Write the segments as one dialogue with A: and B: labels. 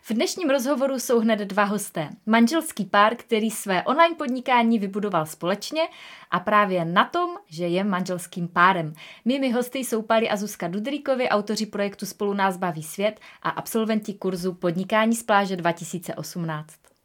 A: V dnešním rozhovoru jsou hned dva hosté. Manželský pár, který své online podnikání vybudoval společně a právě na tom, že je manželským párem. Mými hosty jsou Pali a Zuzka Dudríkovi, autoři projektu Spolu nás baví svět a absolventi kurzu Podnikání z pláže 2018.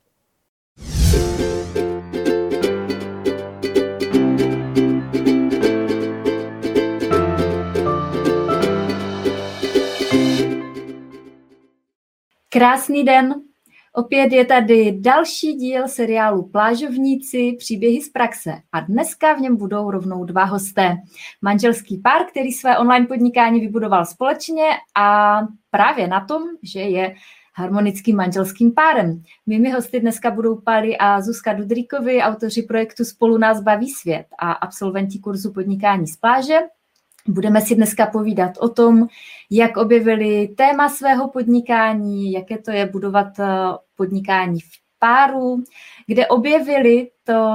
A: Krásný den. Opět je tady další díl seriálu Plážovníci, příběhy z praxe a dneska v něm budou rovnou dva hosté. Manželský pár, který své online podnikání vybudoval společně a právě na tom, že je harmonickým manželským párem. Mými hosty dneska budou Pali a Zuzka Dudríkovi, autoři projektu Spolu nás baví svět a absolventi kurzu Podnikání z pláže. Budeme si dneska povídat o tom, jak objevili téma svého podnikání, jaké to je budovat podnikání v páru, kde objevili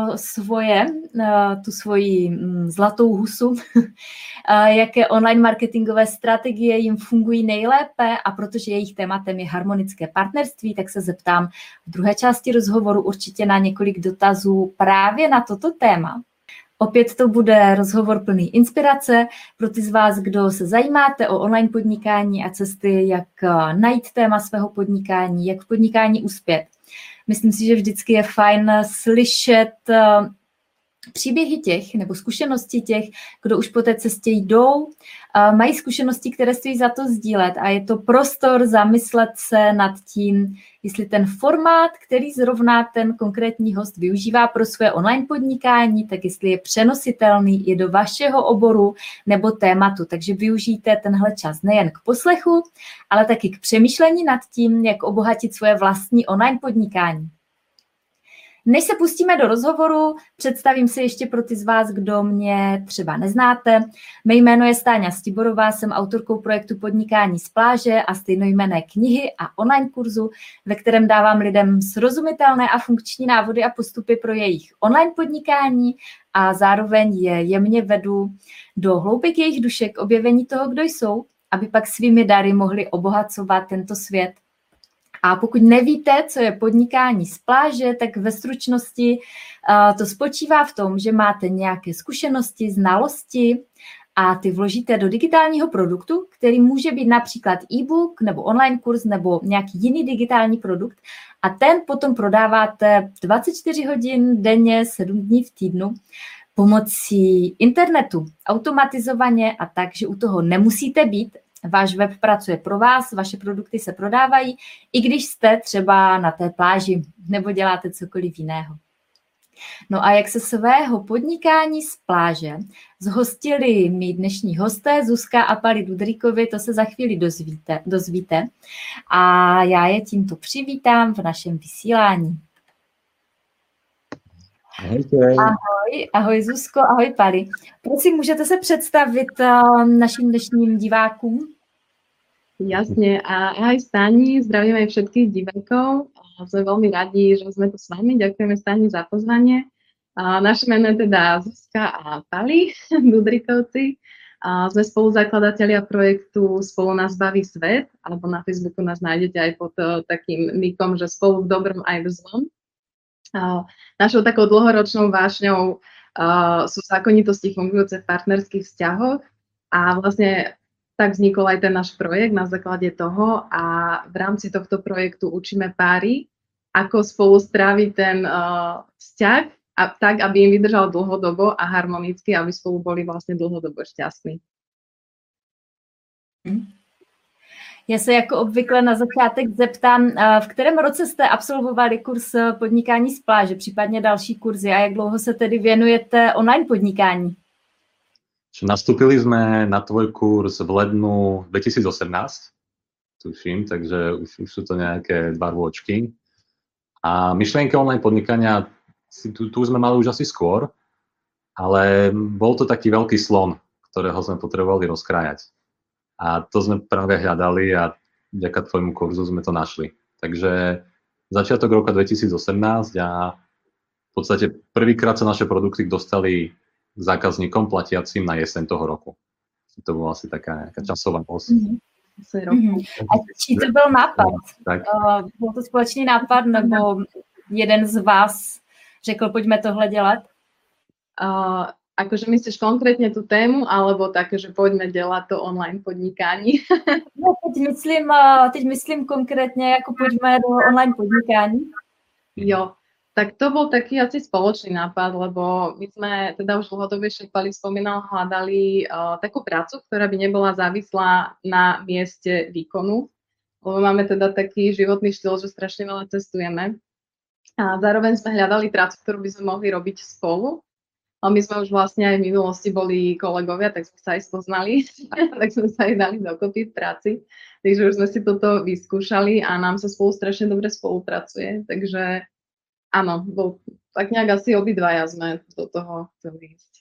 A: tu svoji zlatou husu, jaké online marketingové strategie jim fungují nejlépe a protože jejich tématem je harmonické partnerství, tak se zeptám v druhé části rozhovoru určitě na několik dotazů právě na toto téma. Opět to bude rozhovor plný inspirace pro ty z vás, kdo se zajímáte o online podnikání a cesty, jak najít téma svého podnikání, jak v podnikání uspět. Myslím si, že vždycky je fajn slyšet příběhy těch nebo zkušenosti těch, kdo už po té cestě jdou, mají zkušenosti, které stojí za to sdílet a je to prostor zamyslet se nad tím, jestli ten formát, který zrovna ten konkrétní host využívá pro své online podnikání, tak jestli je přenositelný i do vašeho oboru nebo tématu. Takže využijte tenhle čas nejen k poslechu, ale taky k přemýšlení nad tím, jak obohatit svoje vlastní online podnikání. Než se pustíme do rozhovoru, představím se ještě pro ty z vás, kdo mě třeba neznáte. Mé jméno je Stáňa Stiborová, jsem autorkou projektu Podnikání z pláže a stejnojmenné knihy a online kurzu, ve kterém dávám lidem srozumitelné a funkční návody a postupy pro jejich online podnikání a zároveň je jemně vedu do hloubek jejich duše k objevení toho, kdo jsou, aby pak svými dary mohli obohacovat tento svět. A pokud nevíte, co je podnikání z pláže, tak ve stručnosti to spočívá v tom, že máte nějaké zkušenosti, znalosti a ty vložíte do digitálního produktu, který může být například e-book nebo online kurz nebo nějaký jiný digitální produkt a ten potom prodáváte 24 hodin denně, 7 dní v týdnu pomocí internetu, automatizovaně a tak, že u toho nemusíte být. Váš web pracuje pro vás, vaše produkty se prodávají, i když jste třeba na té pláži nebo děláte cokoliv jiného. No a jak se svého podnikání z pláže zhostili mý dnešní hosté Zuzka a Pali Dudríkovi, to se za chvíli dozvíte. A já je tímto přivítám v našem vysílání. Ahoj Zuzko, ahoj Pali. Prosím, můžete se představit našim dnešním divákům?
B: Jasne, a ahoj Stáni, zdravíme aj všetkých divákov. Sme veľmi radi, že sme tu s vami. Ďakujeme Stáni za pozvanie. Naše meno je teda Zuzka a Pali Dudríkovci. Sme spoluzakladatelia projektu Spolu nás baví svet, alebo na Facebooku nás nájdete aj pod takým nikom, že spolu v dobrom aj v zlom. Našou takou dlhoročnou vášňou sú zákonitosti fungujúce v partnerských vzťahoch a vlastne tak vznikol aj ten náš projekt na základe toho a v rámci tohto projektu učíme páry, ako spolu stráviť ten vzťah a tak, aby im vydržal dlhodobo a harmonicky, aby spolu boli vlastne dlhodobo šťastní.
A: Já se jako obvykle na začátek zeptám, v kterém roce jste absolvovali kurz Podnikání z pláže, případně další kurzy a jak dlouho se tedy věnujete online podnikání?
C: Nastúpili sme na tvoj kurz v lednu 2018, tuším, takže už sú to nejaké 2 rôčky. A myšlienky online podnikania tu sme mali už asi skôr, ale bol to taký veľký slon, ktorého sme potrebovali rozkrájať. A to sme práve hľadali a vďaka tvojmu kurzu sme to našli. Takže začiatok roka 2018 a v podstate prvýkrát sa naše produkty dostali k zákazníkom platiacim na jeseň toho roku. To bola asi taká časová os.
A: A čí to byl nápad?
C: Tak.
A: Byl to společný nápad, nebo jeden z vás řekl, pojďme tohle dělat?
B: Akože myslíš konkrétne tú tému, alebo také, že poďme dělat to online podnikání?
A: No, teď myslím konkrétně, jako pojďme do online podnikání.
B: Jo, tak to bol taký asi spoločný nápad, lebo my sme teda už dlhodobejšie, Pali spomínal, hľadali takú prácu, ktorá by nebola závislá na mieste výkonu, lebo máme teda taký životný štýl, že strašne veľa cestujeme. A zároveň sme hľadali prácu, ktorú by sme mohli robiť spolu. A my sme už vlastne aj v minulosti boli kolegovia, tak sme sa aj spoznali, tak sme sa aj dali dokopy v práci. Takže už sme si toto vyskúšali a nám sa spolu strašne dobre spolupracuje. Takže áno, tak nejak asi obidvaja sme do toho chceli ísť.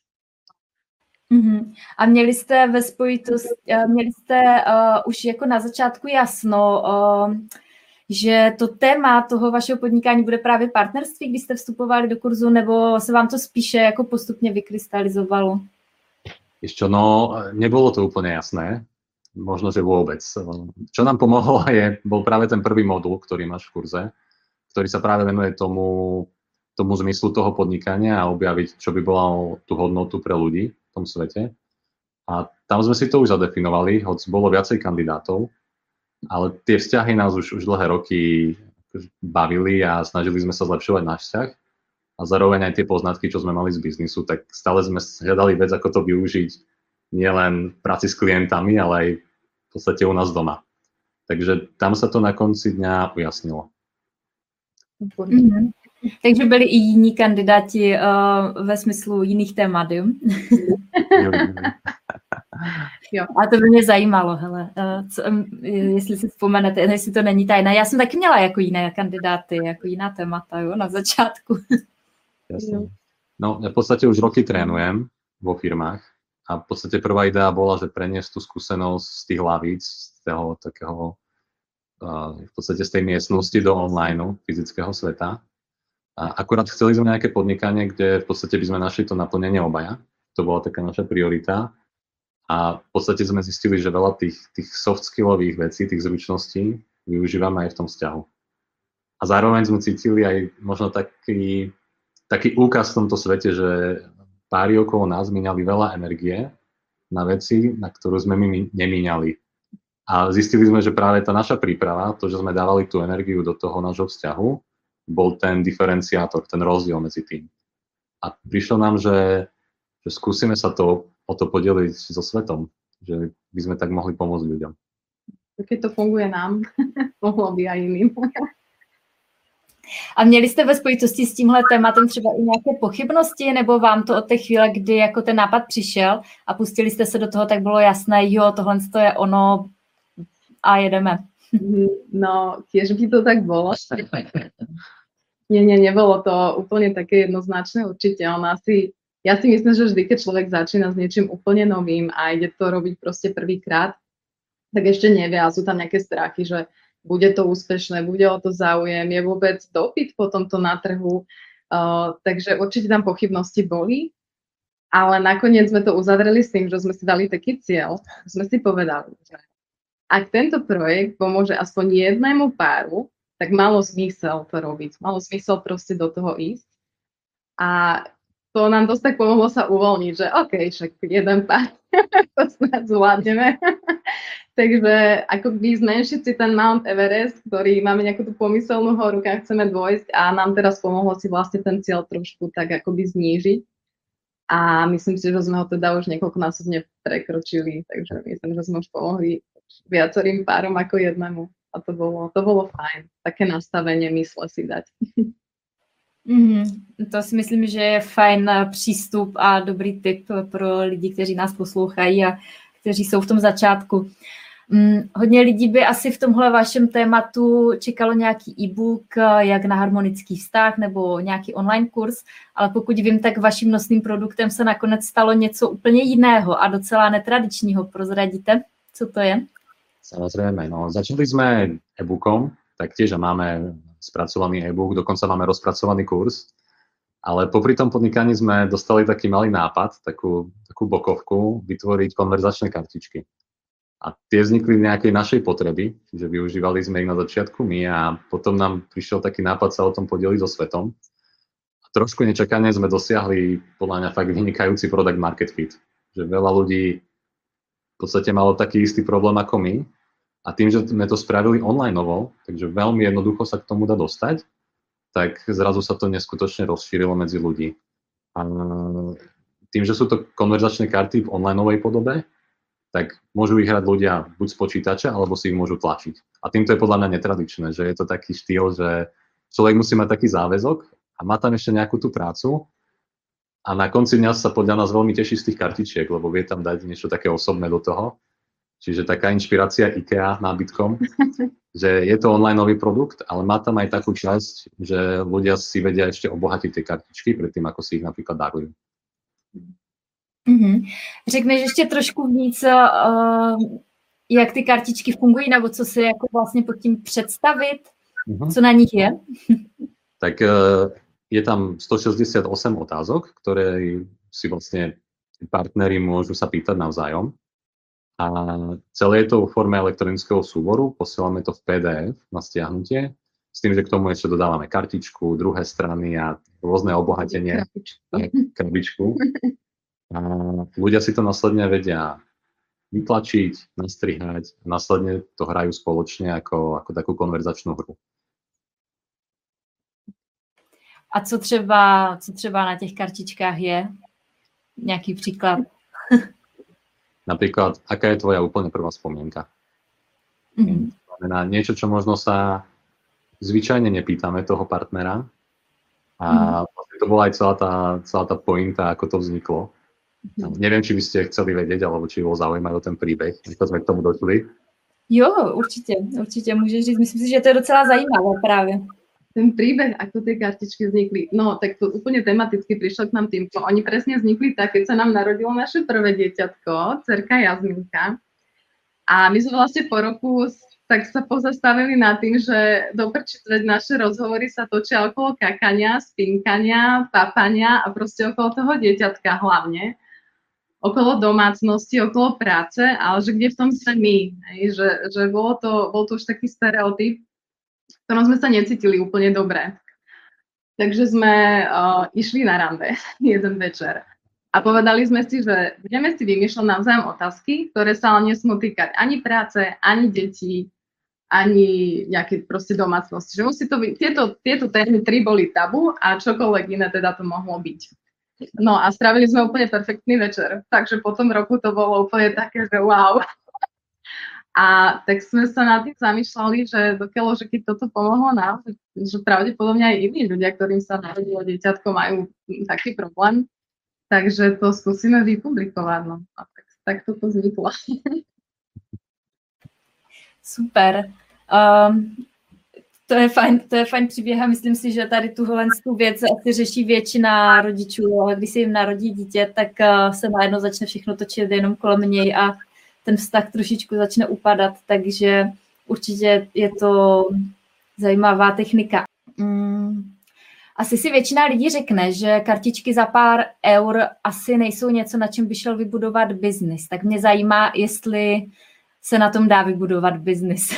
A: A měli jste ve spojitosti, už jako na začátku jasno, že to téma toho vašeho podnikání bude právě partnerství, když jste vstupovali do kurzu, nebo se vám to spíše jako postupně vykrystalizovalo?
C: Ešte, no, nebolo to úplne jasné, možno, že vôbec. Čo nám pomohlo bol práve ten prvý modul, ktorý máš v kurze, ktorý sa práve venuje tomu zmyslu toho podnikania a objaviť, čo by bola tú hodnotu pre ľudí v tom svete. A tam sme si to už zadefinovali, hoď bolo viacej kandidátov, ale tie vzťahy nás už dlhé roky bavili a snažili sme sa zlepšovať náš vzťah a zároveň aj tie poznatky, čo sme mali z biznisu, tak stále sme hľadali vec, ako to využiť nielen v práci s klientami, ale aj v podstate u nás doma. Takže tam sa to na konci dňa ujasnilo.
A: Takže byli i jiní kandidáti ve smyslu jiných témat, jo? Jo. A to by mě zajímalo, hele, jestli si vzpomenete, jestli to není tajné. Já jsem taky měla jako jiné kandidáty, jako jiná témata, jo, na začátku.
C: Jasne. No, ja v podstate už roky trénujem vo firmách a v podstate prvá idea bola, že preniesť tú skúsenosť z tých hlavíc, z toho takého, v podstate z tej miestnosti do online fyzického sveta. A akurát chceli sme nejaké podnikanie, kde v podstate by sme našli to naplnenie obaja. To bola taká naša priorita. A v podstate sme zistili, že veľa tých soft skillových vecí, tých zručností využívame aj v tom vzťahu. A zároveň sme cítili aj možno taký úkaz v tomto svete, že páry okolo nás míňali veľa energie na veci, na ktorú sme my nemíňali. A zistili sme, že práve tá naša príprava, to, že sme dávali tú energiu do toho nášho vzťahu, bol ten diferenciátor, ten rozdiel medzi tým. A prišlo nám, že skúsime sa o to podeliť so svetom, že by sme tak mohli pomôcť ľuďom.
B: Keď to funguje nám, mohlo by aj iným.
A: A měli jste ve spojitosti s tímhle tématem třeba i nějaké pochybnosti, nebo vám to od té chvíle, kdy jako ten nápad přišel a pustili jste se do toho, tak bylo jasné, jo, tohle je ono a jedeme.
B: No, tiež by to tak bolo. Nie, nebolo to úplne také jednoznačné, určite. Ja si myslím, že vždy, keď človek začína s niečím úplne novým a ide to robiť proste prvýkrát, tak ešte nevie a sú tam nejaké strachy, že bude to úspešné, bude o to záujem, je vôbec dopyt po tomto na trhu, takže určite tam pochybnosti boli, ale nakoniec sme to uzavreli s tým, že sme si dali taký cieľ, sme si povedali, že ak tento projekt pomôže aspoň jednému páru, tak malo zmysel to robiť, malo zmysel proste do toho ísť a to nám dosť tak pomohlo sa uvoľniť, že OK, však jeden pár, to snad zvládneme. Takže akoby zmenšiť si ten Mount Everest, ktorý máme nejakú tú pomyselnú horu, kam chceme dôjsť a nám teraz pomohlo si vlastne ten cieľ trošku tak akoby znížiť. A myslím si, že sme ho teda už niekoľkonásobne prekročili, takže myslím, že sme už pomohli viacerým párom ako jednému. A to bolo fajn, také nastavenie mysle si dať.
A: To si myslím, že je fajn přístup a dobrý tip pro lidi, kteří nás poslouchají a kteří jsou v tom začátku. Hodně lidí by asi v tomhle vašem tématu čekalo nějaký e-book, jak na harmonický vztah nebo nějaký online kurz, ale pokud vím, tak vaším nosným produktem se nakonec stalo něco úplně jiného a docela netradičního. Prozradíte, co to je?
C: Samozrejme, no. Začali sme e-bookom, taktiež máme spracovaný e-book, dokonca máme rozpracovaný kurz, ale popri tom podnikaní sme dostali taký malý nápad, takú bokovku, vytvoriť konverzačné kartičky. A tie vznikli v nejakej našej potreby, že využívali sme ich na začiatku my a potom nám prišiel taký nápad sa o tom podeliť so svetom. A trošku nečakane sme dosiahli podľa mňa fakt vynikajúci product market fit. Že veľa ľudí v podstate malo taký istý problém ako my a tým, že sme to spravili onlineovo, takže veľmi jednoducho sa k tomu dá dostať, tak zrazu sa to neskutočne rozšírilo medzi ľudí. A tým, že sú to konverzačné karty v onlineovej podobe, tak môžu ich hrať ľudia buď z počítača, alebo si ich môžu tlačiť. A týmto je podľa mňa netradičné, že je to taký štýl, že človek musí mať taký záväzok a má tam ešte nejakú tú prácu a na konci dňa sa podľa nás veľmi teší z tých kartičiek, lebo vie tam dať niečo také osobné do toho. Čiže taká inšpirácia IKEA nábytkom, že je to onlineový produkt, ale má tam aj takú časť, že ľudia si vedia ešte obohatiť tie kartičky predtým, ako si ich napríklad darujú.
A: Mm-hmm. Řekneš ještě trošku víc, jak ty kartičky fungují, nebo co si jako vlastně pod tím představit, co na nich je?
C: Tak je tam 168 otázok, ktoré si vlastne partneri môžu sa pýtať navzájom. A celé je to v forme elektronického súboru, posielame to v PDF na stiahnutie, s tým, že k tomu ešte dodávame kartičku, druhé strany a rôzne obohatenie. Krabičku. A ľudia si to následne vedia vytlačiť, nastrihať a následne to hrajú spoločne ako takú konverzačnú hru.
A: A co třeba na těch kartičkách je? Nějaký příklad?
C: Napríklad, aká je tvoja úplne prvá spomienka? Znamená niečo, čo možno sa zvyčajne nepýtame toho partnera. A to bola aj celá tá pointa, ako to vzniklo. Neviem, či by ste chceli vedieť, alebo či bol zaujímavý o ten príbeh, ako sme k tomu došli.
A: Jo, určite môžeš říct. Myslím si, že to je docela zajímavé práve.
B: Ten príbeh, ako tie kartičky vznikli, no tak to úplne tematicky prišlo k nám týmto. Oni presne vznikli tak, keď sa nám narodilo naše prvé dieťatko, dcerka Jasminka. A my sme vlastne po roku tak sa pozastavili nad tým, že doprčiť naše rozhovory sa točia okolo kakania, spinkania, papania a proste okolo toho dieťatka hlavne. Okolo domácnosti, okolo práce, ale že kde v tom sme my. Že bol to už taký stereotyp, v ktorom sme sa necítili úplne dobre. Takže sme išli na rande jeden večer a povedali sme si, že budeme si vymýšľať navzájom otázky, ktoré sa ale nesmú týkať ani práce, ani detí, ani nejaké proste domácnosti. Že musí to byť, tieto témy 3 boli tabu a čokoľvek iné teda to mohlo byť. No a strávili sme úplne perfektný večer, takže po tom roku to bolo úplne také, že wow. A tak sme sa nad tým zamýšľali, že dokiaľ, že keď toto pomohlo nám, že pravdepodobne aj iní ľudia, ktorým sa narodilo dieťatko, majú taký problém, takže to skúsime vypublikovať. No. A tak toto vzniklo.
A: Super. To je fajn příběh a myslím si, že tady tuhle věc asi řeší většina rodičů, ale když se jim narodí dítě, tak se najednou začne všechno točit jenom kolem něj a ten vztah trošičku začne upadat, takže určitě je to zajímavá technika. Asi si většina lidí řekne, že kartičky za pár eur asi nejsou něco, na čem by šel vybudovat biznis. Tak mě zajímá, jestli se na tom dá vybudovat biznis.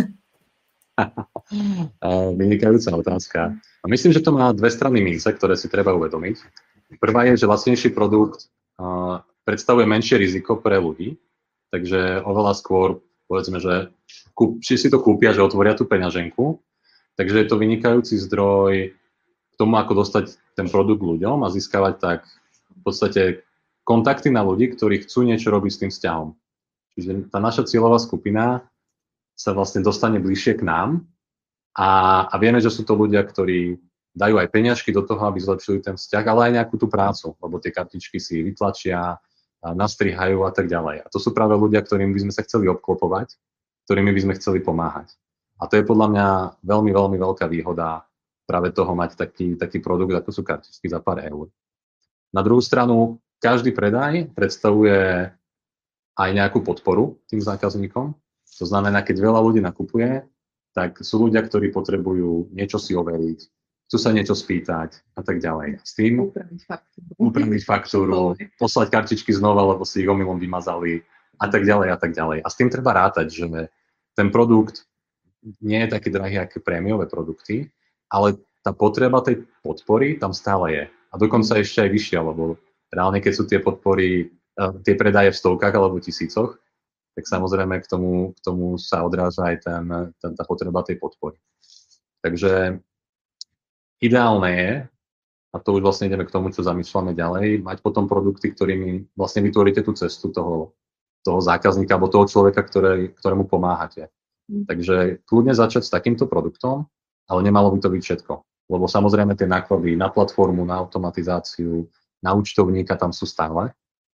C: Vynikajúca otázka. A myslím, že to má dve strany mince, ktoré si treba uvedomiť. Prvá je, že lacnejší produkt predstavuje menšie riziko pre ľudí, takže oveľa skôr, povedzme, že si to kúpia, že otvoria tú peňaženku, takže je to vynikajúci zdroj k tomu, ako dostať ten produkt ľuďom a získavať tak v podstate kontakty na ľudí, ktorí chcú niečo robiť s tým vzťahom. Čiže tá naša cieľová skupina sa vlastne dostane bližšie k nám a vieme, že sú to ľudia, ktorí dajú aj peniažky do toho, aby zlepšili ten vzťah, ale aj nejakú tú prácu, lebo tie kartičky si vytlačia, nastrihajú a tak ďalej. A to sú práve ľudia, ktorým by sme sa chceli obklopovať, ktorými by sme chceli pomáhať. A to je podľa mňa veľmi, veľmi veľká výhoda práve toho mať taký produkt, ako sú kartičky za pár eur. Na druhú stranu, každý predaj predstavuje aj nejakú podporu tým zákazníkom. To znamená, keď veľa ľudí nakupuje, tak sú ľudia, ktorí potrebujú niečo si overiť, chcú sa niečo spýtať a tak ďalej. S tým upraviť faktúru, poslať kartičky znova, lebo si ich omylom vymazali a tak ďalej a tak ďalej. A s tým treba rátať, že ten produkt nie je taký drahý ako prémiové produkty, ale tá potreba tej podpory tam stále je. A dokonca ešte aj vyššia, lebo reálne, keď sú tie podpory, tie predaje v stovkách alebo tisícoch, tak samozrejme k tomu sa odráža aj tá potreba tej podpory. Takže ideálne je, a to už vlastne ideme k tomu, čo zamýšľame ďalej, mať potom produkty, ktorými vlastne vytvoríte tú cestu toho zákazníka alebo toho človeka, ktorému pomáhate. Takže kľudne začať s takýmto produktom, ale nemalo by to byť všetko. Lebo samozrejme tie náklady na platformu, na automatizáciu, na účtovníka tam sú stále.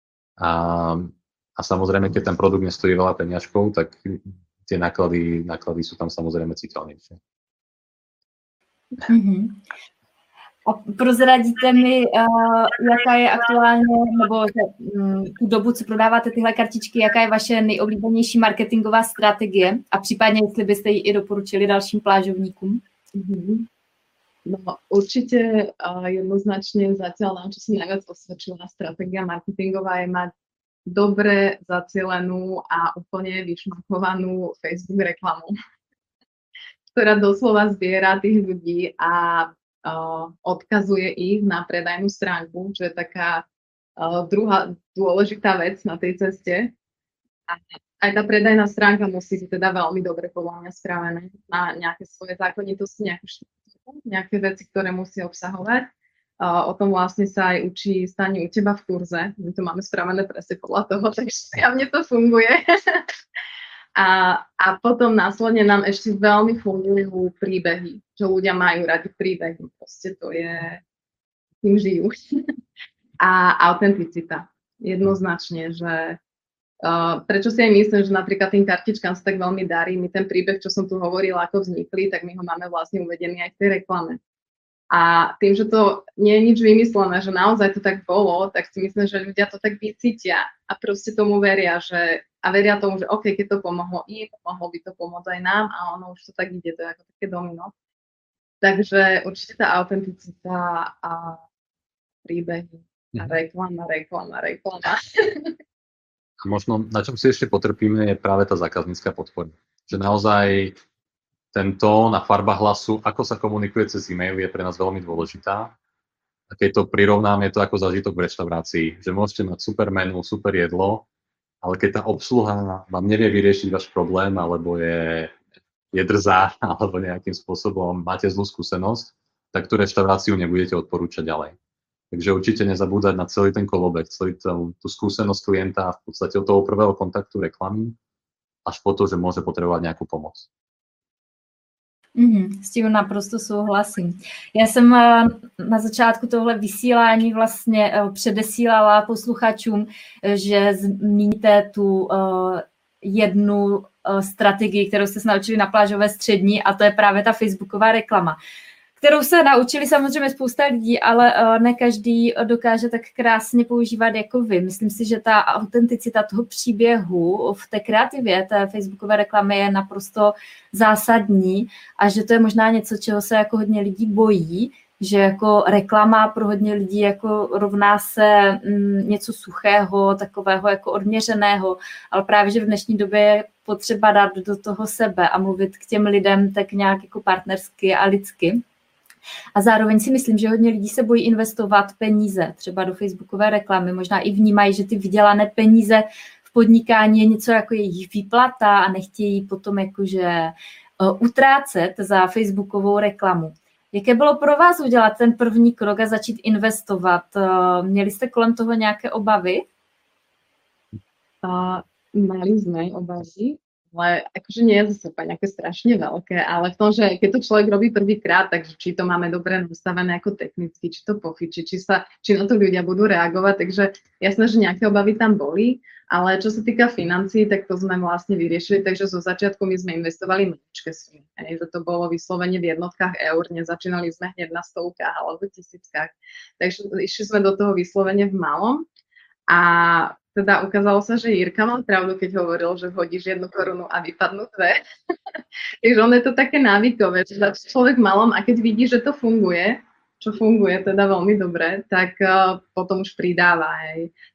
C: A samozrejme, keď ten produkt nestojí veľa peniažkov, tak tie náklady sú tam samozrejme citeľnejšie.
A: Mm-hmm. A prozradíte mi, jaká je aktuálně, nebo tu dobu, co prodáváte tyhle kartičky, jaká je vaše nejoblíbenější marketingová strategie a případně, jestli byste ji i doporučili dalším plážovníkům?
B: Mm-hmm. No určite jednoznačne zatiaľ nám, čo sa najviac osvedčila stratégia marketingová, je mať dobre zacielenú a úplne vyšmakovanú Facebook reklamu, ktorá doslova zbiera tých ľudí a odkazuje ich na predajnú stránku, čo je taká druhá dôležitá vec na tej ceste. A aj tá predajná stránka musí byť teda veľmi dobre podľa mňa spravené na nejaké svoje zákonitosti, nejaké veci, ktoré musí obsahovať. O tom vlastne sa aj učí Stani u teba v kurze. My to máme spravené presne podľa toho, takže mne to funguje. A potom následne nám ešte veľmi fungujú príbehy, že ľudia majú radi príbehy. Proste to je, tým žijú. A autenticita. Jednoznačne, že prečo si aj myslím, že napríklad tým kartičkám sa tak veľmi darí. My ten príbeh, čo som tu hovorila, ako vznikli, tak my ho máme vlastne uvedený aj v tej reklame. A tým, že to nie je nič vymyslené, že naozaj to tak bolo, tak si myslím, že ľudia to tak vycítia a proste tomu veria, a veria tomu, že OK, keď to pomohlo im, mohlo by to pomôcť aj nám a ono už to tak ide, to je ako také domino. Takže určite tá autenticita a príbehy a reklama.
C: Možno, na čom si ešte potrpíme, je práve tá zákaznícka podpora. Že naozaj ten tón a farba hlasu, ako sa komunikuje cez e-mail, je pre nás veľmi dôležitá. A keď to prirovnám, je to ako zážitok v reštaurácii. Že môžete mať super menu, super jedlo, ale keď tá obsluha vám nevie vyriešiť váš problém, alebo je drzá, alebo nejakým spôsobom máte zlú skúsenosť, tak tú reštauráciu nebudete odporúčať ďalej. Takže určite nezabúdať na celý ten kolobek, celý tú skúsenosť klienta v podstate od toho prvého kontaktu reklamy až po to, že môže potrebovať nejakú pomoc.
A: S tím naprosto souhlasím. Já jsem na začátku tohle vysílání vlastně předesílala posluchačům, že zmíníte tu jednu strategii, kterou jste se naučili na plážové střední, a to je právě ta facebooková reklama, kterou se naučili samozřejmě spousta lidí, ale ne každý dokáže tak krásně používat jako vy. Myslím si, že ta autenticita toho příběhu v té kreativě té facebookové reklamy je naprosto zásadní a že to je možná něco, čeho se jako hodně lidí bojí, že jako reklama pro hodně lidí jako rovná se něco suchého, takového jako odměřeného, ale právě, že v dnešní době je potřeba dát do toho sebe a mluvit k těm lidem tak nějak jako partnersky a lidsky. A zároveň si myslím, že hodně lidí se bojí investovat peníze třeba do facebookové reklamy. Možná i vnímají, že ty vydělané peníze v podnikání je něco jako jejich výplata a nechtějí potom jakože utrácet za facebookovou reklamu. Jaké bylo pro vás udělat ten první krok a začít investovat? Měli jste kolem toho nějaké obavy?
B: Mali sme obavy, ale akože nie je zase nejaké strašne veľké, ale v tom, že keď to človek robí prvýkrát, takže či to máme dobre nastavené ako technicky, či to pofičí, či na to ľudia budú reagovať, takže jasné, že nejaké obavy tam boli, ale čo sa týka financií, tak to sme vlastne vyriešili, takže zo začiatku my sme investovali maličké sumy, že to bolo vyslovene v jednotkách eur, nezačínali sme hneď na stovkách alebo tisíckach, takže išli sme do toho vyslovene v malom a teda ukázalo sa, že Jirka mal pravdu, keď hovoril, že hodíš 1 korunu a vypadnú 2. Takže on je to také návykové, že človek malom a keď vidí, že to funguje, čo funguje teda veľmi dobre, tak potom už pridáva. Hej.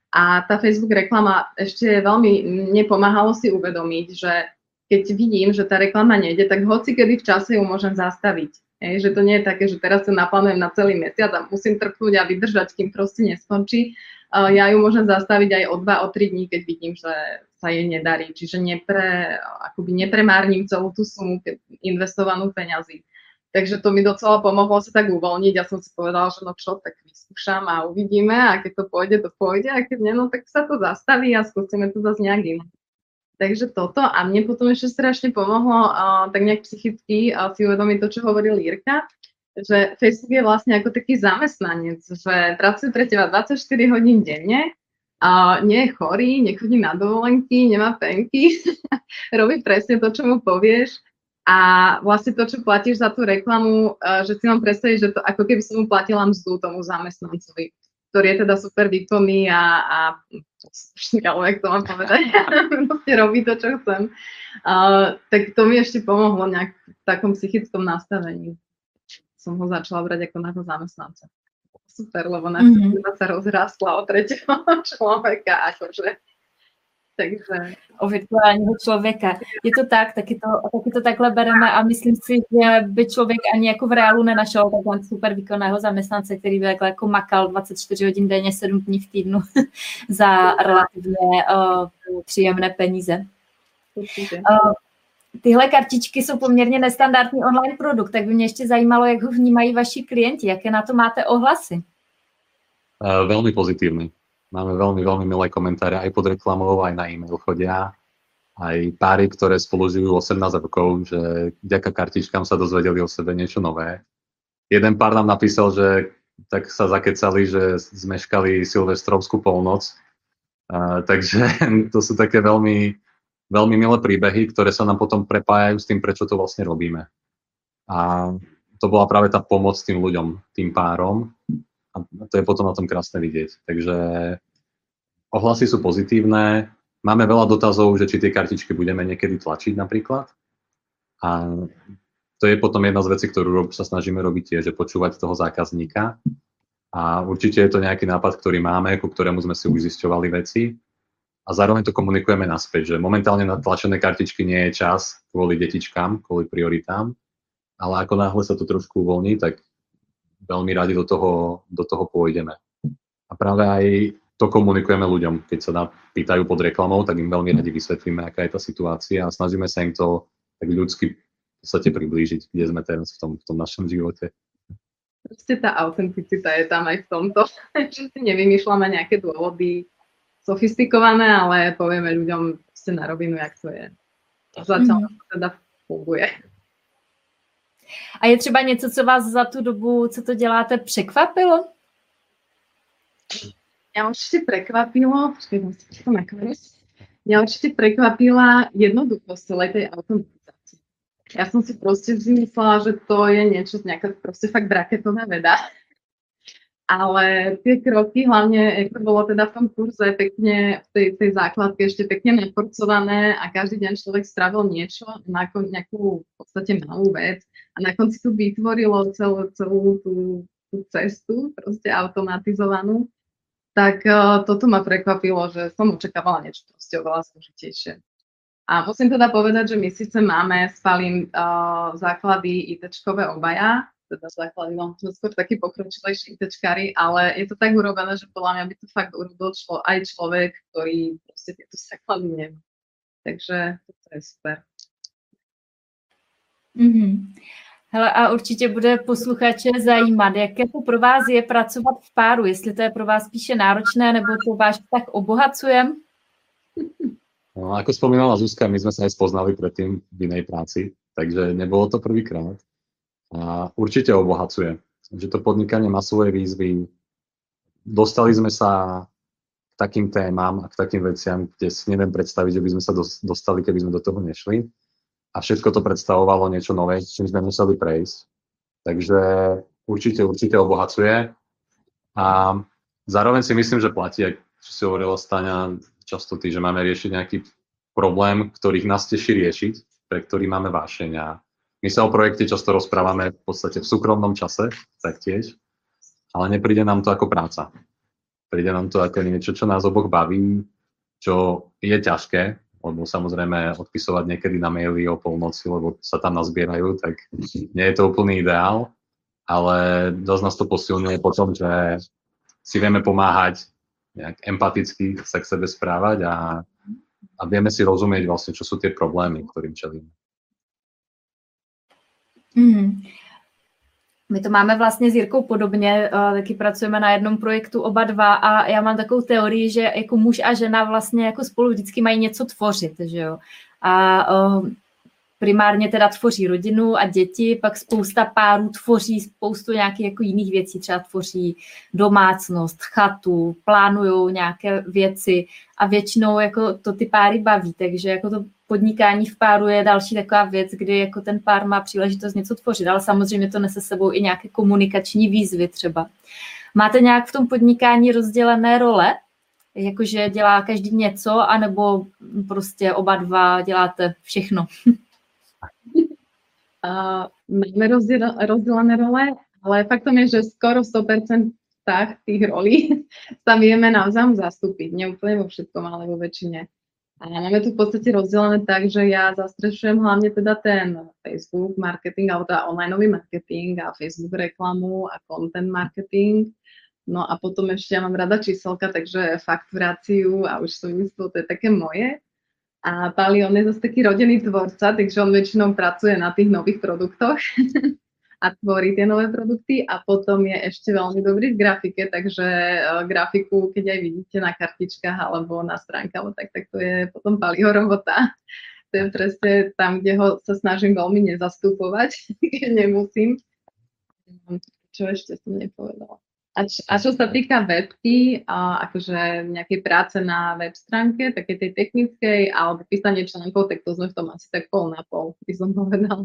B: A tá Facebook reklama ešte veľmi nepomáhalo si uvedomiť, že keď vidím, že tá reklama nejde, tak hoci kedy v čase ju môžem zastaviť. Že to nie je také, že teraz sa naplánujem na celý mesiac a musím trpnúť a vydržať, kým proste neskončí. Ja ju môžem zastaviť aj o 2, o 3 dní, keď vidím, že sa jej nedarí. Čiže nepremárnim celú tú sumu investovanú peňazí. Takže to mi docela pomohlo sa tak uvoľniť. Ja som si povedala, že no čo, tak vyskúšam a uvidíme a keď to pôjde a keď nie, no tak sa to zastaví a skúsime to zase nejak inak. Takže toto a mne potom ešte strašne pomohlo tak nejak psychicky si uvedomiť to, čo hovoril Jirka, že Facebook je vlastne ako taký zamestnanec, že pracuje pre teba 24 hodín denne, nie je chorý, nechodí na dovolenky, nemá penky, robí presne to, čo mu povieš a vlastne to, čo platíš za tú reklamu, že si mám predstaviť, že to ako keby som mu platila mzdu tomu zamestnancovi, ktorý je teda super výkonný a ale jak to mám povedať, proste robí to, čo chcem. Tak to mi ešte pomohlo nejak v takom psychickom nastavení. Som ho začala brať ako nášho zamestnanca. Super, lebo naša sa rozrástla o tretieho človeka, akože. Takže...
A: O virtuálního člověka. Je to tak, taky to takhle bereme a myslím si, že by člověk ani jako v reálu nenašel takhle super výkonného zaměstnance, který by jako makal 24 hodin denně, 7 dní v týdnu za relativně příjemné peníze. Tyhle kartičky jsou poměrně nestandardní online produkt, tak by mě ještě zajímalo, jak ho vnímají vaši klienti, jaké na to máte ohlasy?
C: Veľmi pozitívny. Máme veľmi, veľmi milé komentáre aj pod reklamou, aj na e-mail chodia. Aj páry, ktoré spolu žijú 18 rokov, že vďaka kartičkám sa dozvedeli o sebe niečo nové. Jeden pár nám napísal, že tak sa zakecali, že zmeškali silvestrovskú polnoc. Takže to sú také veľmi, veľmi milé príbehy, ktoré sa nám potom prepájajú s tým, prečo to vlastne robíme. A to bola práve tá pomoc tým ľuďom, tým párom. A to je potom na tom krásne vidieť. Takže ohlasy sú pozitívne. Máme veľa dotazov, že či tie kartičky budeme niekedy tlačiť napríklad. A to je potom jedna z vecí, ktorú sa snažíme robiť tiež, že počúvať toho zákazníka. A určite je to nejaký nápad, ktorý máme, ku ktorému sme si už zisťovali veci. A zároveň to komunikujeme naspäť, že momentálne na tlačené kartičky nie je čas kvôli detičkám, kvôli prioritám. Ale ako náhle sa to trošku uvoľní, tak veľmi radi do toho pôjdeme. A práve aj to komunikujeme ľuďom. Keď sa pýtajú pod reklamou, tak im veľmi radi vysvetlíme, aká je tá situácia a snažíme sa im to tak ľudsky v podstate priblížiť, kde sme teraz v tom našom živote.
B: Proste tá autenticita je tam aj v tomto, že si nevymýšľame nejaké dôvody sofistikované, ale povieme ľuďom proste na rovinu, jak to je. Zatiaľ to teda funguje.
A: A je třeba něco, co vás za tu dobu, co to děláte, překvapilo?
B: Mňa určite prekvapila jednoduchosť celej tej automatizácie. Ja som si proste vždy myslela, že to je niečo, nejaká proste fakt braketová veda. Ale tie kroky, hlavne ako bolo teda v tom kurze pekne, v tej základke ešte pekne naporcované a každý deň človek stravil niečo, nejakú v podstate malú vec a na konci to vytvorilo celú tú cestu proste automatizovanú, tak toto ma prekvapilo, že som očakávala niečo proste oveľa zložitejšie. A musím teda povedať, že my síce máme s Palim základy ITčkové obaja, teda základy, no sme skôr takí pokročilejší ITčkári, ale je to tak urobené, že podľa mňa by to fakt urobil aj človek, ktorý proste tieto základy nemá. Takže to je super.
A: Hele, a určitě bude posluchače zajímat, jaké to pro vás je pracovat v páru, jestli to je pro vás spíše náročné, nebo to váš tak obohacuje?
C: No, ako spomínala Zuzka, my sme sa aj spoznali predtým v inej práci, takže nebolo to prvýkrát. A určite obohacuje. Že to podnikanie má svoje výzvy. Dostali sme sa k takým témam a k takým veciam, kde si neviem predstaviť, že by sme sa dostali, keby sme do toho nešli. A všetko to predstavovalo niečo nové, s čím sme museli prejsť. Takže určite obohacuje. A zároveň si myslím, že platí, čo si hovorila Staňa, často ty, že máme riešiť nejaký problém, ktorých nás teší riešiť, pre ktorý máme vášeň. A my sa o projekte často rozprávame v podstate v súkromnom čase, taktiež, ale nepríde nám to ako práca. Príde nám to ako niečo, čo nás oboch baví, čo je ťažké, lebo samozrejme odpisovať niekedy na maily o polnoci, lebo sa tam nazbierajú, tak nie je to úplný ideál, ale dosť nás to posilňuje potom, že si vieme pomáhať nejak empaticky sa k sebe správať a vieme si rozumieť vlastne, čo sú tie problémy, ktorým čelíme.
A: My to máme vlastně s Jirkou podobně, taky pracujeme na jednom projektu oba dva a já mám takovou teorii, že jako muž a žena vlastně jako spolu vždycky mají něco tvořit, že jo. A primárně teda tvoří rodinu a děti, pak spousta párů tvoří spoustu nějakých jako jiných věcí, třeba tvoří domácnost, chatu, plánujou nějaké věci a většinou jako to ty páry baví, takže jako to podnikání v páru je další taková věc, kdy jako ten pár má příležitost něco tvořit, ale samozřejmě to nese sebou i nějaké komunikační výzvy třeba. Máte nějak v tom podnikání rozdělené role? Jakože dělá každý něco, anebo prostě oba dva děláte všechno?
B: Máme rozdelené role, ale faktom je, že skoro 100% tých rolí sa vieme navzájom zastúpiť. Nie úplne vo všetkom, ale vo väčšine. A máme tu v podstate rozdelené tak, že ja zastrešujem hlavne teda ten Facebook marketing, alebo teda onlineový marketing a Facebook reklamu a content marketing. No a potom ešte ja mám rada číselka, takže fakturáciu a už súvislo, to je také moje. A Pali, on je zase taký rodený tvorca, takže on väčšinou pracuje na tých nových produktoch a tvorí tie nové produkty a potom je ešte veľmi dobrý v grafike, takže grafiku, keď aj vidíte na kartičkách alebo na stránkach, tak to je potom Paliho robota. To je presne tam, kde ho sa snažím veľmi nezastupovať, keď nemusím. Čo ešte som nepovedala? A čo sa týka webky, akože nejakej práce na web stránke, také tej technickej, alebo písanie článkov, tak to sme v tom asi tak pol na pol, by som povedala.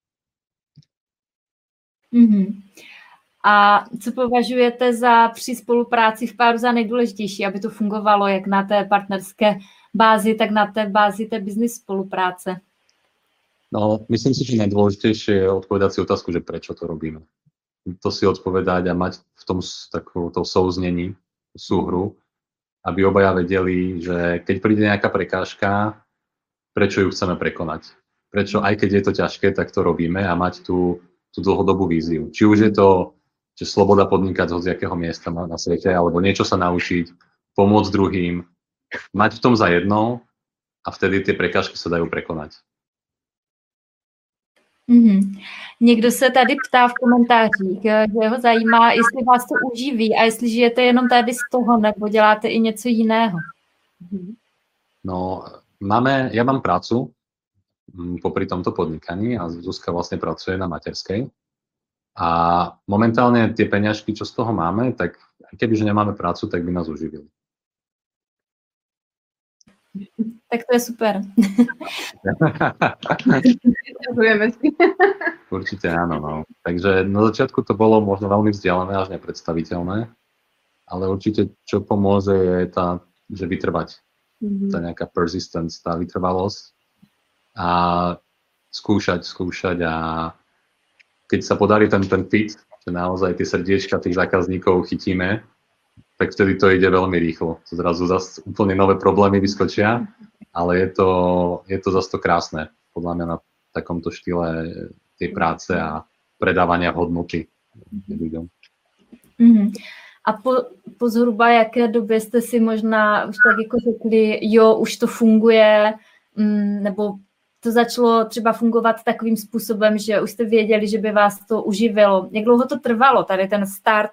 A: A co považujete při spolupráci v páru za nejdůležitější, aby to fungovalo jak na té partnerské bázi, tak na té bázi té business spolupráce?
C: No, myslím si, že najdôležitejšie je odpovedať si otázku, že prečo to robíme. To si odpovedať a mať v tom takovéto souznení, súhru, aby obaja vedeli, že keď príde nejaká prekážka, prečo ju chceme prekonať. Prečo, aj keď je to ťažké, tak to robíme a mať tú dlhodobú víziu. Či už je to, že sloboda podnikať z hociakého miesta na svete, alebo niečo sa naučiť, pomôcť druhým, mať v tom zajedno a vtedy tie prekážky sa dajú prekonať.
A: Někdo se tady ptá v komentářích, že ho zajímá, jestli vás to uživí a jestli žijete jenom tady z toho, nebo děláte i něco jiného.
C: No, ja mám prácu popri tomto podnikaní a Zuzka vlastne pracuje na materskej. A momentálne tie peňažky, čo z toho máme, tak kebyže nemáme prácu, tak by nás uživili.
A: Tak to je super.
C: Určite áno. No. Takže na začiatku to bolo možno veľmi vzdialené až nepredstaviteľné, ale určite čo pomôže je že vytrvať. Tá nejaká persistence, tá vytrvalosť a skúšať a keď sa podarí ten fit, že naozaj tie srdiečka tých zákazníkov chytíme, tak vtedy to ide veľmi rýchlo. Zrazu zase úplne nové problémy vyskočia, ale je to zase to krásne, podľa mňa na takomto štýle tej práce a predávania hodnoty ľuďom.
A: A po zhruba jaké době jste si možná už tak jako řekli, jo, už to funguje, nebo to začalo třeba fungovat takovým způsobem, že už jste věděli, že by vás to uživilo. Jak dlouho to trvalo, tady ten start?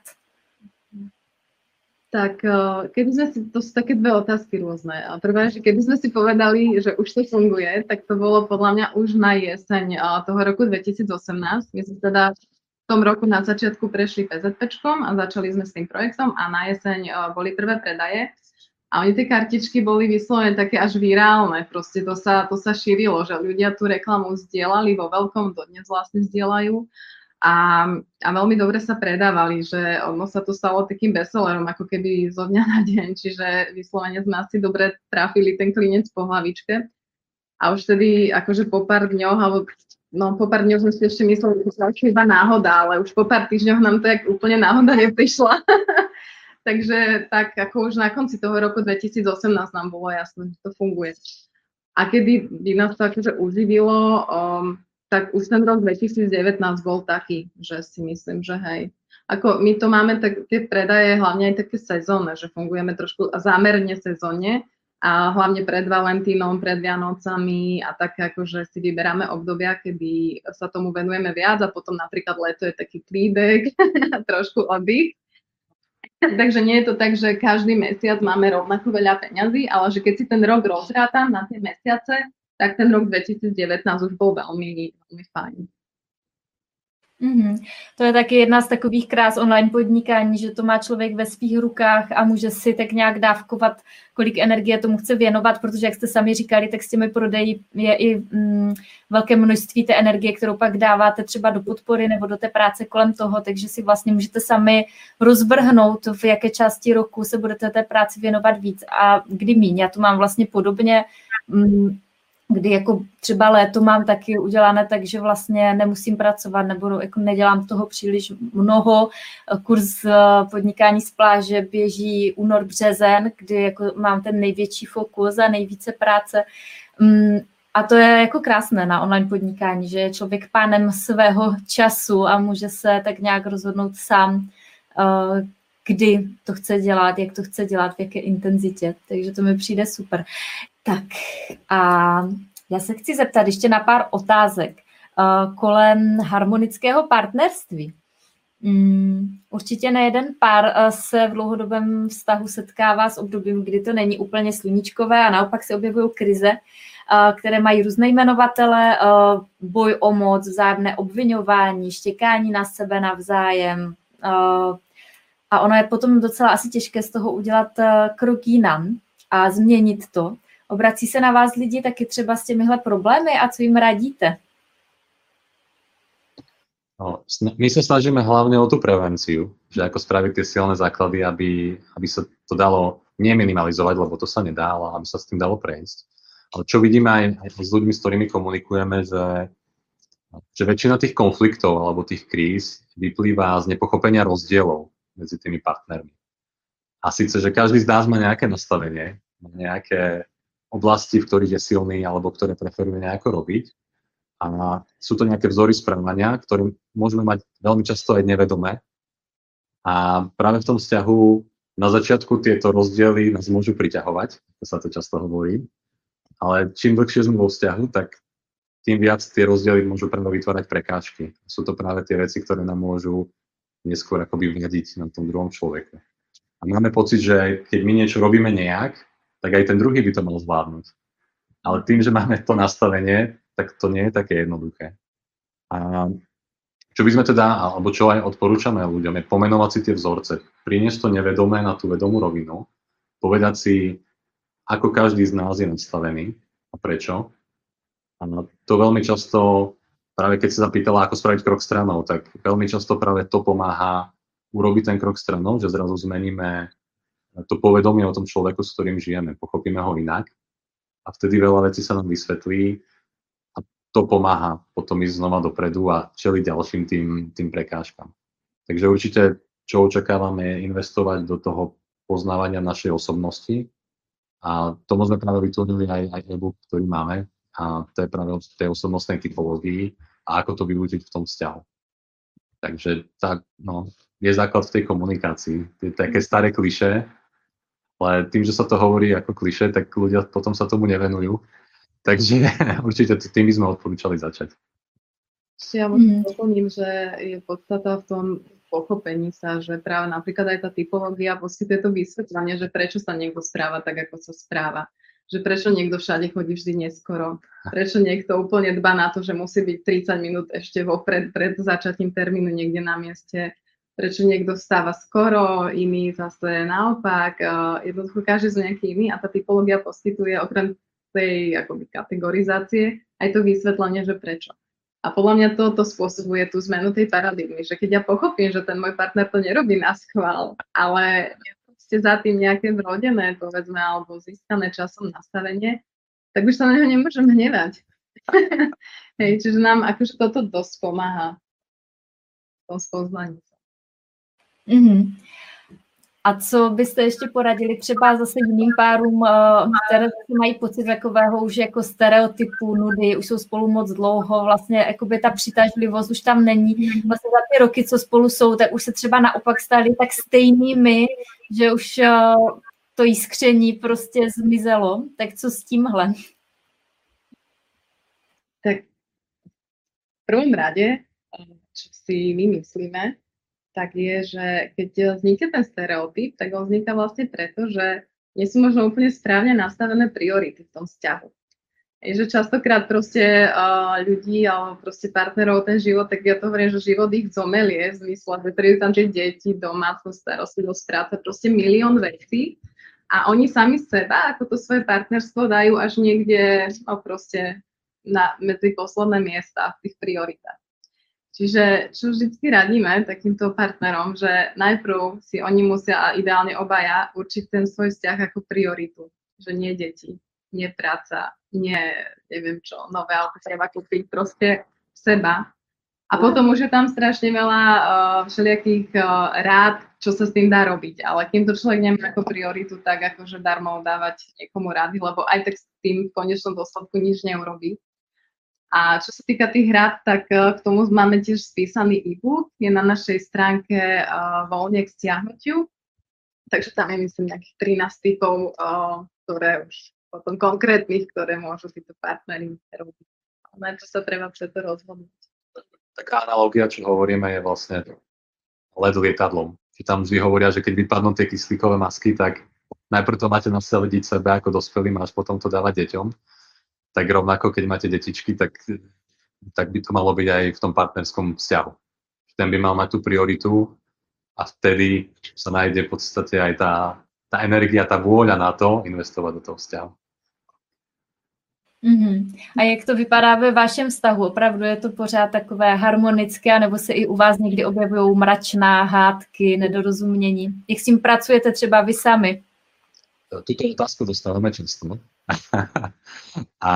B: Tak keby sme si, to sú také dve otázky rôzne. Prvá, že keby sme si povedali, že už to funguje, tak to bolo podľa mňa už na jeseň toho roku 2018. My sme teda v tom roku na začiatku prešli PZPčkom a začali sme s tým projektom a na jeseň boli prvé predaje. A oni tie kartičky boli vyslovene také až virálne, proste to sa šírilo, že ľudia tú reklamu zdieľali vo veľkom, dodnes vlastne zdieľajú. A veľmi dobre sa predávali, že ono sa to stalo takým bestsellerom, ako keby zo dňa na deň, čiže vyslovene sme asi dobre trafili ten klinec po hlavičke. A už tedy akože po pár dňoch, po pár dňoch sme si ešte mysleli, že to iba náhoda, ale už po pár týždňoch nám to jak úplne náhoda neprišla. takže tak ako už na konci toho roku 2018 nám bolo jasné, že to funguje. A kedy by nás to akože uživilo, tak už ten rok 2019 bol taký, že si myslím, že hej. Ako my to máme tak, tie predaje hlavne aj také sezónne, že fungujeme trošku zámerne sezónne a hlavne pred Valentínom, pred Vianocami a tak akože si vyberáme obdobia, kedy sa tomu venujeme viac a potom napríklad leto je taký klídek a trošku oddych. Takže nie je to tak, že každý mesiac máme rovnako veľa peňazí, ale že keď si ten rok rozrátam na tie mesiace, tak ten rok 2019 už bol veľmi, veľmi fajn.
A: To je taky jedna z takových krás online podnikání, že to má člověk ve svých rukách a může si tak nějak dávkovat, kolik energie tomu chce věnovat, protože jak jste sami říkali, tak s těmi prodeji je i velké množství té energie, kterou pak dáváte třeba do podpory nebo do té práce kolem toho, takže si vlastně můžete sami rozvrhnout, v jaké části roku se budete té práci věnovat víc a kdy míň. Já to mám vlastně podobně, kdy jako třeba léto mám taky udělané tak, že vlastně nemusím pracovat nebo jako nedělám toho příliš mnoho. Kurz podnikání z pláže běží únor, březen, kdy jako mám ten největší fokus a nejvíce práce. A to je jako krásné na online podnikání, že je člověk pánem svého času a může se tak nějak rozhodnout sám, kdy to chce dělat, jak to chce dělat, v jaké intenzitě. Takže to mi přijde super. Tak a já se chci zeptat ještě na pár otázek kolem harmonického partnerství. Určitě nejeden pár se v dlouhodobém vztahu setkává s obdobím, kdy to není úplně sluníčkové a naopak se objevují krize, které mají různé jmenovatele, boj o moc, vzájemné obviňování, štěkání na sebe navzájem. A ono je potom docela asi těžké z toho udělat krok jinam a změnit to. Obrací se na vás lidi taky třeba s těmihle problémy a co jim radíte?
C: No, my sa snažíme hlavne o tú prevenciu, že ako spraviť tie silné základy, aby sa to dalo neminimalizovať, lebo to sa nedá, ale aby sa s tým dalo prejsť. Ale čo vidíme aj s ľuďmi, s ktorými komunikujeme, že väčšina tých konfliktov alebo tých kríz vyplýva z nepochopenia rozdielov medzi tými partnermi. A síce, že každý z nás má nejaké nastavenie, má nejaké oblasti, v ktorých je silný alebo ktoré preferuje nejako robiť. A sú to nejaké vzory správania, ktoré môžeme mať veľmi často aj nevedomé. A práve v tom vzťahu na začiatku tieto rozdiely nás môžu priťahovať, to sa to často hovorí. Ale čím dlhšie sme vo vzťahu, tak tým viac tie rozdiely môžu práve vytvárať prekážky. Sú to práve tie veci, ktoré nám môžu neskôr akoby vnediť na tom druhom človeku. A máme pocit, že keď my niečo robíme nejak, tak aj ten druhý by to mal zvládnuť. Ale tým, že máme to nastavenie, tak to nie je také jednoduché. A čo by sme teda, alebo čo aj odporúčame ľuďom, je pomenovať si tie vzorce. Priniesť to nevedomé na tú vedomú rovinu, povedať si, ako každý z nás je nastavený a prečo. A to veľmi často, práve keď sa zapýtala, ako spraviť krok stranou, tak veľmi často práve to pomáha urobiť ten krok stranou, že zrazu zmeníme to povedomie o tom človeku, s ktorým žijeme, pochopíme ho inak a vtedy veľa vecí sa nám vysvetlí a to pomáha potom ísť znova dopredu a čeliť ďalším tým prekážkam. Takže určite, čo očakávame, je investovať do toho poznávania našej osobnosti a tomu sme práve vytvorili aj e-book, ktorý máme a to je práve o tej osobnostnej typológii a ako to využiť v tom vzťahu. Takže tak, je základ v tej komunikácii. Je také staré klišé, ale tým, že sa to hovorí ako klišé, tak ľudia potom sa tomu nevenujú. Takže určite tým by sme odporúčali začať.
B: Ja možno doplním, že je podstata v tom pochopení sa, že práve napríklad aj tá typológia poskytuje to vysvetlenie, že prečo sa niekto správa tak, ako sa správa. Že prečo niekto všade chodí vždy neskoro. Prečo niekto úplne dbá na to, že musí byť 30 minút ešte vopred, pred začatím termínu niekde na mieste. Prečo niekto vstáva skoro, iný zase naopak. Jednoducho každý z nejaký iný a tá typológia poskytuje okrem tej akoby kategorizácie aj to vysvetlenie, že prečo. A podľa mňa to spôsobuje tú zmenu tej paradigmy, že keď ja pochopím, že ten môj partner to nerobí na schvál, ale je za tým nejaké vrodené, povedzme, alebo získané časom nastavenie, tak už sa na neho nemôžem hnevať. Hej, čiže nám akože toto dosť pomáha v tom spoznaní.
A: A co byste ještě poradili třeba zase jiným párům, které mají pocit takového už jako stereotypu, nudy, už jsou spolu moc dlouho, vlastně jakoby ta přitažlivost už tam není. Vlastně za ty roky, co spolu jsou, tak už se třeba naopak stali tak stejnými, že už to jiskření prostě zmizelo. Tak co s tímhle?
B: Tak v prvom rade, čo si my myslíme, tak je, že keď vznikne ten stereotyp, tak on vzniká vlastne preto, že nie sú možno úplne správne nastavené priority v tom vzťahu. Je, že častokrát proste ľudí alebo proste partnerov ten život, tak ja to hovorím, že život ich zomelie v zmysle, že prídu tam tie deti, domácnosť, starostlivosť, práca, proste milión vecí a oni sami seba, ako to svoje partnerstvo dajú až niekde proste medzi posledné miesta v tých prioritách. Čiže čo vždycky radíme takýmto partnerom, že najprv si oni musia a ideálne obaja určiť ten svoj vzťah ako prioritu. Že nie deti, nie práca, nie neviem čo, nové auto treba kúpiť, proste seba. A potom už je tam strašne veľa všelijakých rád, čo sa s tým dá robiť. Ale kým to človek nemá ako prioritu, tak akože darmo dávať niekomu rady, lebo aj tak s tým v konečnom dôsledku nič neurobí. A čo sa týka tých rád, tak k tomu máme tiež spísaný e-book, je na našej stránke voľne k stiahnutiu, takže tam je myslím nejakých 13 typov, ktoré už potom konkrétnych, ktoré môžu títo partneri robiť. Na čo sa treba preto rozhodnúť.
C: Taká analogia, čo hovoríme, je vlastne let lietadlom. Tam vždy hovoria, že keď vypadnú tie kyslíkové masky, tak najprv to máte nasadiť sebe ako dospelým, až potom to dávať deťom. Tak rovnako, keď máte detičky, tak by to malo byť aj v tom partnerskom vzťahu. Ten by mal mať tú prioritu a vtedy sa nájde v podstate aj tá energia, tá vôľa na to investovať do toho vzťahu.
A: Mm-hmm. A jak to vypadá ve vašem vztahu? Opravdu je to pořád takové harmonické, nebo se i u vás někdy objevují mračná hádky, nedorozumění? Jak s tím pracujete třeba vy sami?
C: Tuto otázku dostávame často. A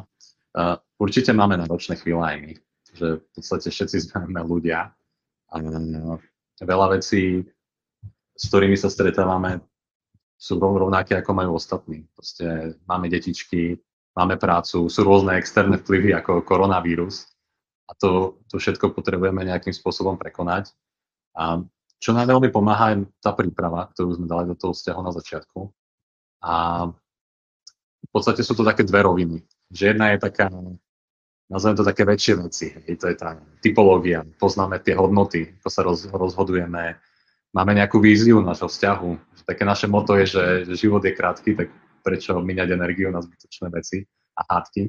C: určite máme náročné chvíle aj my, že v podstate všetci sme ľudia a veľa vecí, s ktorými sa stretávame, sú rovnaké, ako majú ostatní. Proste máme detičky, máme prácu, sú rôzne externé vplyvy ako koronavírus a to všetko potrebujeme nejakým spôsobom prekonať. A čo nám veľmi pomáha je tá príprava, ktorú sme dali do toho vzťahu na začiatku. A v podstate sú to také dve roviny. Že jedna je taká, nazvem to také väčšie veci. To je tá typológia, poznáme tie hodnoty, ako sa rozhodujeme, máme nejakú víziu našho vzťahu. Také naše motto je, že život je krátky, tak prečo míňať energiu na zbytočné veci a hádky.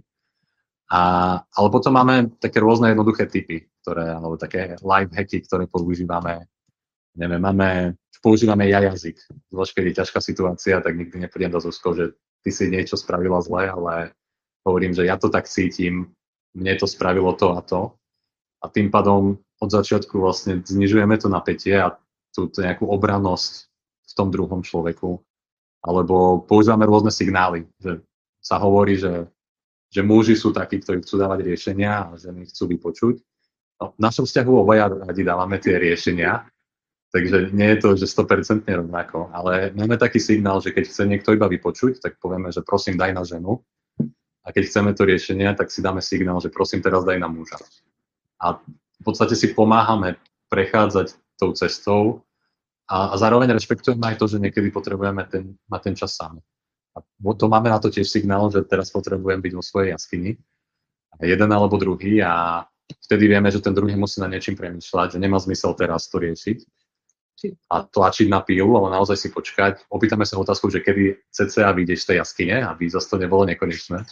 C: Ale potom máme také rôzne jednoduché typy, alebo také life hacky, ktoré používame. Neviem, používame jazyk. Zvlášť, keď je ťažká situácia, tak nikdy neprídem do Zuzkou, že ty si niečo spravila zle, ale hovorím, že ja to tak cítim, mne to spravilo to a to. A tým pádom od začiatku vlastne znižujeme to napätie a tú nejakú obrannosť v tom druhom človeku. Alebo používame rôzne signály, že sa hovorí, že muži sú takí, ktorí chcú dávať riešenia a ženy chcú vypočuť. No, v našom vzťahu obaja radi dávame tie riešenia, takže nie je to, že 100% rovnako, ale máme taký signál, že keď chce niekto iba vypočuť, tak povieme, že prosím daj na ženu. A keď chceme to riešenie, tak si dáme signál, že prosím teraz daj na muža. A v podstate si pomáhame prechádzať tou cestou a zároveň rešpektujeme aj to, že niekedy potrebujeme mať ten čas sám. A to máme na to tiež signál, že teraz potrebujem byť vo svojej jaskyni. Jeden alebo druhý a vtedy vieme, že ten druhý musí na niečím premýšľať, že nemá zmysel teraz to riešiť a tlačiť na pílu, ale naozaj si počkať. Opýtame sa otázku, že kedy cca vyjdeš z tej jaskyne, aby zase to nebolo nekonečné.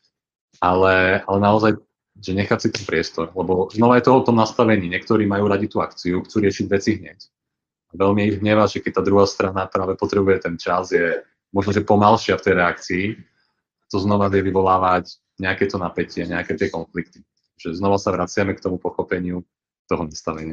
C: Ale naozaj, že nechať si ten priestor, lebo znova je to o tom nastavení. Niektorí majú radi tú akciu, chcú riešiť veci hneď. A veľmi ich hnevá, že keď tá druhá strana práve potrebuje ten čas, je možno, že pomalšia v tej reakcii, to znova vie vyvolávať nejaké to napätie, nejaké tie konflikty. Že znova sa vraciame k tomu pochopeniu toho nastavenia.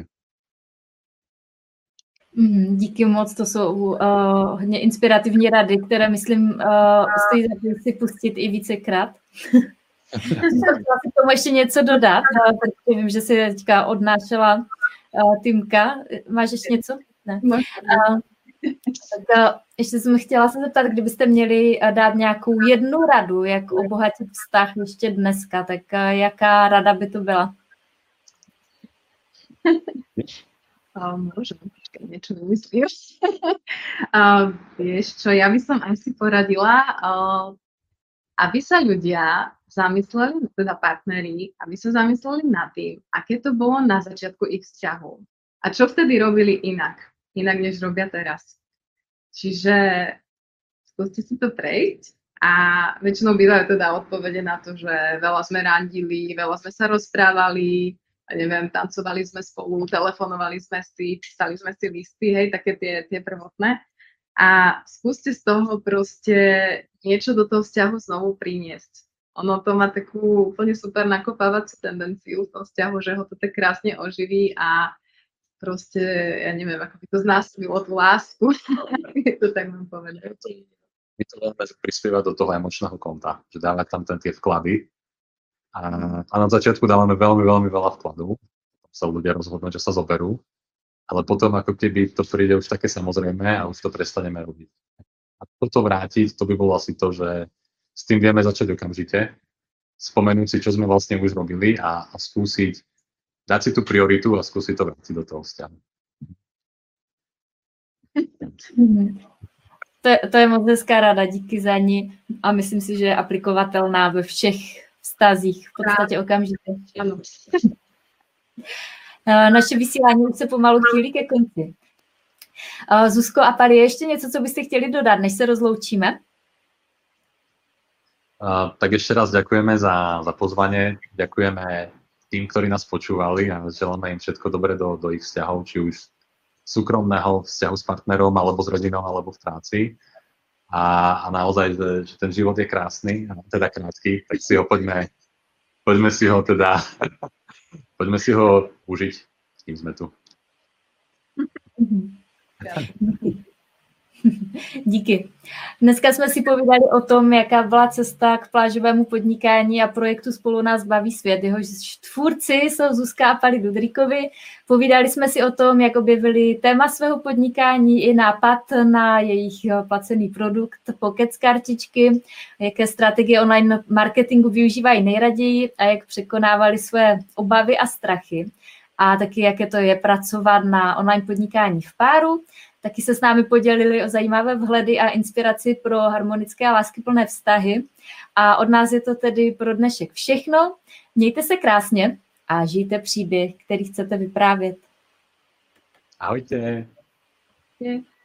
A: Díky moc, to jsou hodně inspirativní rady, které myslím stojí za to si pustit i vícekrát. Chtěla si tomu ještě něco dodat, protože vím, že si teďka odnášela Týmka. Máš ještě něco? Ne. Tak ještě jsem chtěla se zeptat, kdybyste měli dát nějakou jednu radu, jak obohatit vztah ještě dneska, tak jaká rada by to byla?
B: Môžem, počkaj, niečo vymyslím. Vieš čo, ja by som asi poradila, aby sa ľudia zamysleli, teda partneri, aby sa zamysleli nad tým, aké to bolo na začiatku ich vzťahov. A čo vtedy robili inak než robia teraz. Čiže skúste si to prejsť a väčšinou bývajú teda odpovede na to, že veľa sme randili, veľa sme sa rozprávali, neviem, tancovali sme spolu, telefonovali sme si, písali sme si listy, hej, také tie prvotné. A skúste z toho proste niečo do toho vzťahu znovu priniesť. Ono to má takú úplne super nakopávacú tendenciu v tom vzťahu, že ho to tak krásne oživí a proste, ja neviem, ako by to znásililo tú lásku. Je to tak mám povedať.
C: My to veľmi prispievať do toho emočného konta, že dávať tam tie vklady. A na začiatku dávame veľmi, veľmi veľa vkladov. Potom sa ľudia rozhodnú, že sa zoberú. Ale potom ako keby to príde už také samozrejme a už to prestaneme robiť. A toto vrátiť, to by bolo asi to, že s tým vieme začať okamžite, spomenúť si, čo sme vlastne už robili a skúsiť dať si tú prioritu a skúsiť to vrátiť do toho vzťahu.
A: To je moc hezká rada, díky za ní a myslím si, že je aplikovatelná ve všech vztazích v podstatě okamžitě.
B: Ano.
A: Naše vysílání už se pomalu chýlí ke konci. Zuzko a Pali, ještě něco, co byste chtěli dodat, než se rozloučíme?
C: Tak ešte raz ďakujeme za pozvanie, ďakujeme tým, ktorí nás počúvali a želáme im všetko dobré do ich vzťahov, či už súkromného vzťahu s partnerom, alebo s rodinou, alebo v práci. A naozaj, že ten život je krásny, a teda krátky, tak si ho poďme si ho užiť, kým sme tu.
A: Díky. Dneska jsme si povídali o tom, jaká byla cesta k plážovému podnikání a projektu Spolu nás baví svět. Jehož tvůrci jsou Zuzka a Pali Dudrikovi. Povídali jsme si o tom, jak objevili téma svého podnikání i nápad na jejich placený produkt, Pocket kartičky, jaké strategie online marketingu využívají nejraději a jak překonávali své obavy a strachy. A taky, jaké to je pracovat na online podnikání v páru. Taky se s námi podělili o zajímavé vhledy a inspiraci pro harmonické a láskyplné vztahy. A od nás je to tedy pro dnešek všechno. Mějte se krásně a žijte příběh, který chcete vyprávět.
C: Ahojte.
B: Je.